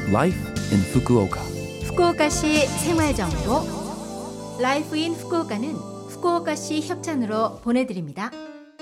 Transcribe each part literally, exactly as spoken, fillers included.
Life in Fukuoka. 후쿠오카시 생활정보 라이프 인 후쿠오카는 후쿠오카시 협찬으로 보내드립니다.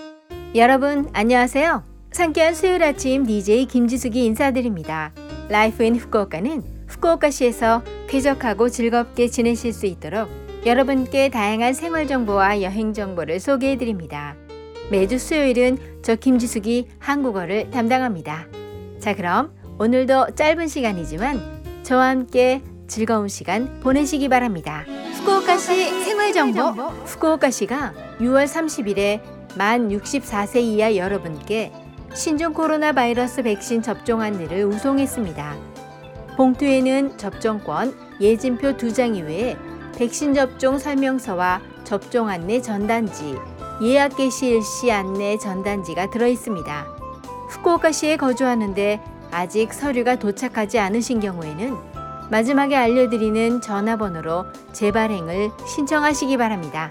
여러분 안녕하세요. 상쾌한 수요일 아침 디제이 김지숙이 인사드립니다. 라이프 인 후쿠오카는 후쿠오카시에서 쾌적하고 즐겁게 지내실 수 있도록 여러분께 다양한 생활정보와 여행정보를 소개해드립니다. 매주 수요일은 저 김지숙이 한국어를 담당합니다. 자, 그럼 오늘도 짧은 시간이지만 저와 함께 즐거운 시간 보내시기 바랍니다. 후쿠오카시 생활정보. 후쿠오카시가 유월 삼십일에 만 육십사 세 이하 여러분께 신종 코로나 바이러스 백신 접종 안내를 우송했습니다. 봉투에는 접종권, 예진표 두 장 이외에 백신 접종 설명서와 접종 안내 전단지, 예약 개시 일시 안내 전단지가 들어있습니다. 후쿠오카시에 거주하는데 아직 서류가 도착하지 않으신 경우에는 마지막에 알려드리는 전화번호로 재발행을 신청하시기 바랍니다.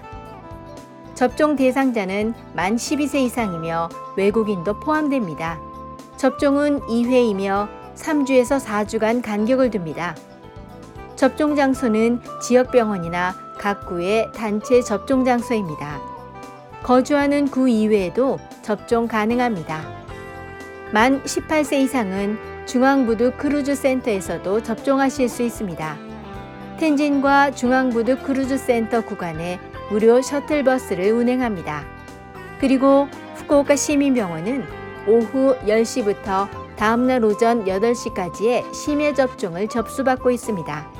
접종 대상자는 만 십이 세 이상이며 외국인도 포함됩니다. 접종은 이 회이며 삼 주에서 사 주간 간격을 둡니다. 접종 장소는 지역병원이나 각 구의 단체 접종 장소입니다. 거주하는 구 이외에도 접종 가능합니다. 만 십팔 세 이상은 중앙부두 크루즈 센터에서도 접종하실 수 있습니다. 텐진과 중앙부두 크루즈 센터 구간에 무료 셔틀버스를 운행합니다. 그리고 후쿠오카 시민병원은 오후 열 시부터 다음날 오전 여덟 시까지의 심야 접종을 접수받고 있습니다.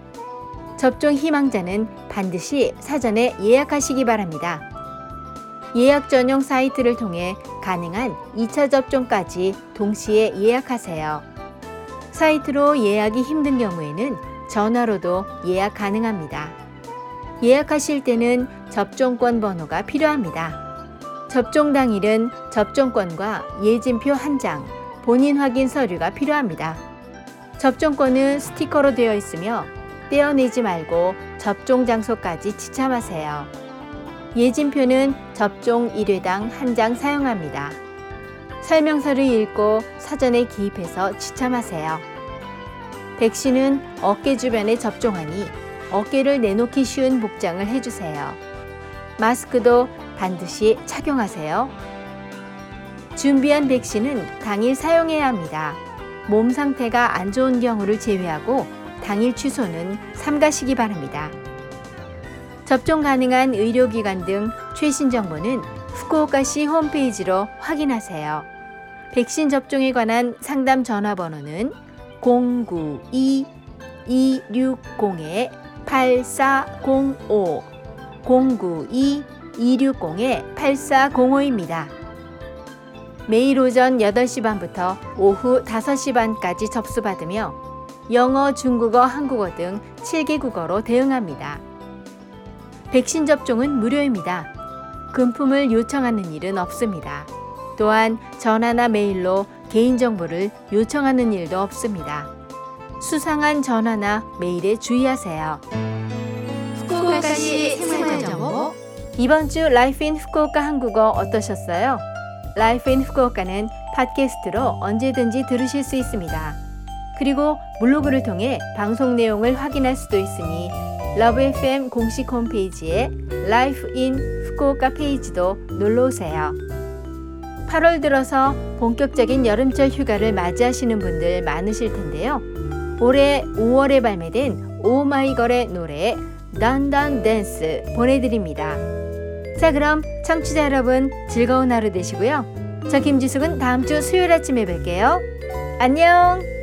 접종 희망자는 반드시 사전에 예약하시기 바랍니다. 예약 전용 사이트를 통해 가능한 이 차 접종까지 동시에 예약하세요. 사이트로 예약이 힘든 경우에는 전화로도 예약 가능합니다. 예약하실 때는 접종권 번호가 필요합니다. 접종 당일은 접종권과 예진표 한 장, 본인 확인 서류가 필요합니다. 접종권은 스티커로 되어 있으며 떼어내지 말고 접종 장소까지 지참하세요. 예진표는 접종 일 회당 한 장 사용합니다. 설명서를 읽고 사전에 기입해서 지참하세요. 백신은 어깨 주변에 접종하니 어깨를 내놓기 쉬운 복장을 해주세요. 마스크도 반드시 착용하세요. 준비한 백신은 당일 사용해야 합니다. 몸 상태가 안 좋은 경우를 제외하고 당일 취소는 삼가시기 바랍니다. 접종 가능한 의료기관 등 최신 정보는 후쿠오카시 홈페이지로 확인하세요. 백신 접종에 관한 상담 전화번호는 공구이 이육공 팔사공오 공구이 이육공 팔사공오입니다. 매일 오전 여덟 시 반부터 오후 다섯 시 반까지 접수받으며 영어, 중국어, 한국어 등 칠 개 국어로 대응합니다. 백신 접종은 무료입니다. 금품을 요청하는 일은 없습니다. 또한 전화나 메일로 개인정보를 요청하는 일도 없습니다. 수상한 전화나 메일에 주의하세요. 후쿠오카시 생활정보. 이번 주 라이프 인 후쿠오카 한국어 어떠셨어요? 라이프 인 후쿠오카는 팟캐스트로 언제든지 들으실 수 있습니다. 그리고 블로그를 통해 방송 내용을 확인할 수도 있으니 러브 에프엠 공식 홈페이지에 라이프 인 후쿠오카 페이지도 놀러오세요. 팔월 들어서 본격적인 여름철 휴가를 맞이하시는 분들 많으실 텐데요. 올해 오월에 발매된 오마이걸의 노래 던던 댄스 보내드립니다. 자, 그럼 청취자 여러분 즐거운 하루 되시고요. 저 김지숙은 다음 주 수요일 아침에 뵐게요. 안녕.